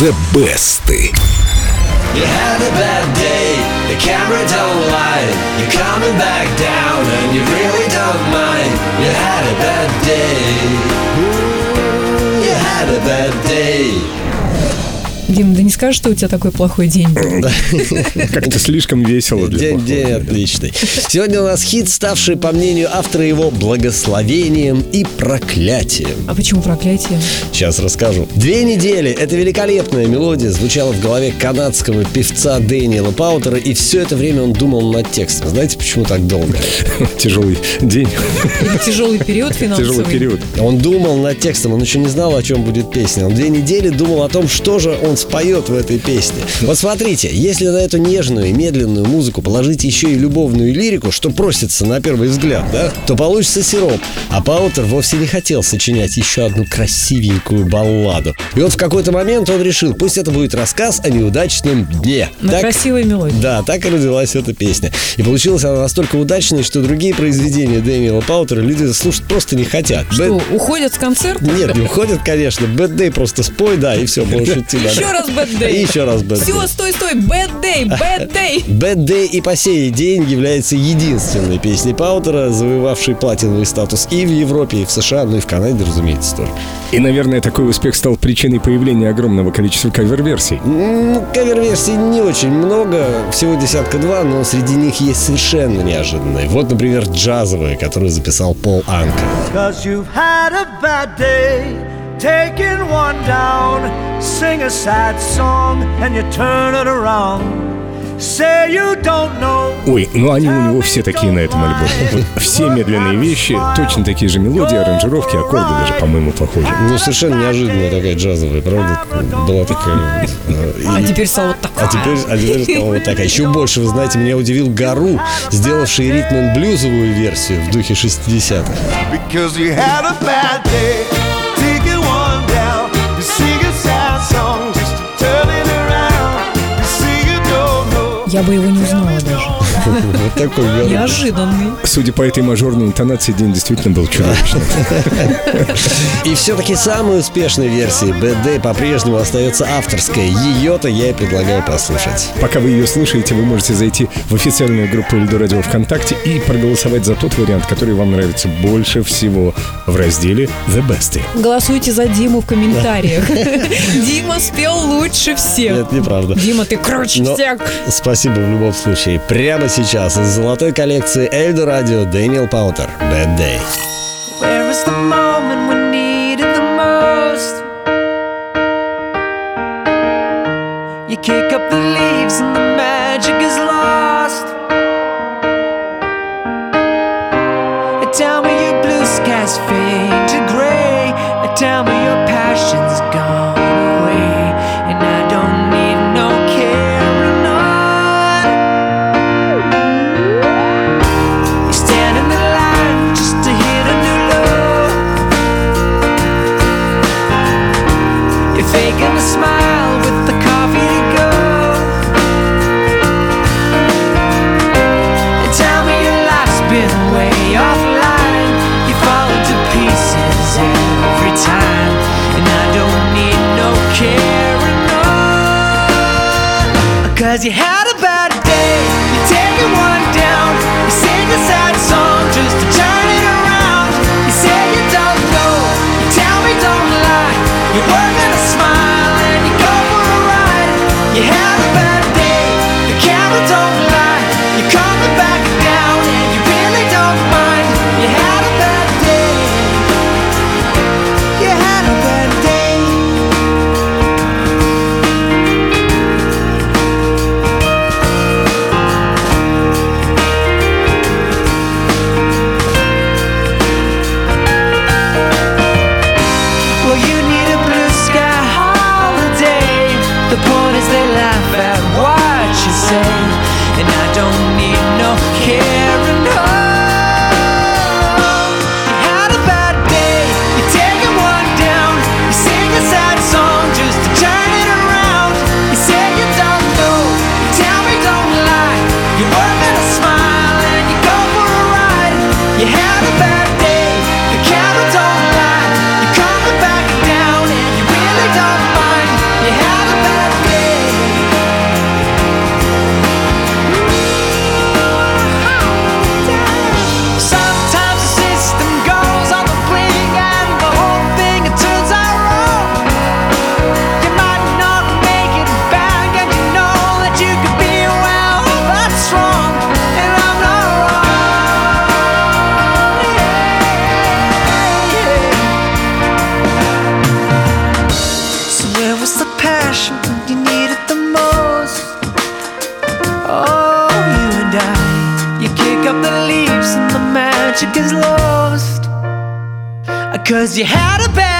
The Best. You had a bad day, the camera don't lie. You're coming back down and you really don't mind. You had a bad day. Ooh, you had a bad day. Дим, да не скажешь, что у тебя такой плохой день был? Как-то слишком весело для плохого. День отличный. Сегодня у нас хит, ставший, по мнению автора его, благословением и проклятием. А почему проклятие? Сейчас расскажу. 2 недели. Эта великолепная мелодия звучала в голове канадского певца Дэниела Паутера, и все это время он думал над текстом. Знаете, почему так долго? Тяжелый день. Или тяжелый период финансовый? Тяжелый период. Он думал над текстом, он еще не знал, о чем будет песня. Он 2 недели думал о том, что же он споет в этой песне. Вот смотрите, если на эту нежную и медленную музыку положить еще и любовную лирику, что просится на первый взгляд, да, то получится сироп. А Паутер вовсе не хотел сочинять еще одну красивенькую балладу. И вот в какой-то момент он решил, пусть это будет рассказ о неудачном дне. На красивой мелодии. Да, так и родилась эта песня. И получилась она настолько удачной, что другие произведения Дэниела Паутера люди слушать просто не хотят. Что, уходят с концерта? Нет, не уходят, конечно. Bad Day просто спой, да, и все, можешь идти дальше. Еще раз Bad Day. И еще раз Bad Day. Все, стой, Bad Day, Bad Day. Bad Day и по сей день является единственной песней Паутера, завоевавшей платиновый статус и в Европе, и в США, ну и в Канаде, разумеется, тоже. И, наверное, такой успех стал причиной появления огромного количества кавер-версий. Кавер-версий не очень много, всего 10-2, но среди них есть совершенно неожиданные. Вот, например, джазовые, которые записал Пол Анка. Taking one down, sing a sad song, and you turn it around. Say you don't know. Ой, ну они у него все такие на этом альбоме. Вот все медленные вещи, точно такие же мелодии, аранжировки, аккорды даже, по-моему, похожи. Ну, совершенно неожиданная такая джазовая, правда? Была такая... А теперь стала вот такая. А теперь стала вот такая. Еще больше, вы знаете, меня удивил Гару, сделавший ритм-н-блюзовую версию в духе 60-х. Я бы его не узнала даже. Вот такой неожиданный. Судя по этой мажорной интонации, день действительно был чудовищным. И все-таки самой успешной версией Bad Day по-прежнему остается авторская. Ее-то я и предлагаю послушать. Пока вы ее слушаете, вы можете зайти в официальную группу Эльдо Радио ВКонтакте и проголосовать за тот вариант, который вам нравится больше всего в разделе The Best. Голосуйте за Диму в комментариях. Дима спел лучше всех. Нет, неправда. Дима, ты круче всех. Спасибо в любом случае. Прямо сейчас из золотой коллекции Эльдо Радио Дэниел Паутер. Bad Day. Where is the moment we needed the most? You kick up the leaves and the magic is lost. Tell me your blue skies fade to gray. Tell me your passion's gone away. And I don't need no carrying on. You stand in the line just to hit a new low. You're faking a smile with the coffee to go. And tell me your life's been way offline. You fall to pieces every time. And I don't need no carrying on. Cause you had a bad day. You're taking one down. You sing a sad song just to turn it around. You say you don't know. You tell me don't lie. You're working a smile and you go for a ride. You had a bad day. The camera don't lie. You're coming back down and you really don't mind. You had a bad day. You had a bad day. Well, you need a blue sky holiday. The point is they laugh at what you say. And I don't need no carrying on. You had a bad day. You're taking one down. You sing a sad song just to turn it around. You say you don't know. You tell me don't lie. You're working a smile and you go for a ride. You had a bad day. The camera don't lie. You're coming back down and you really don't mind. You had a 'cause you had a bad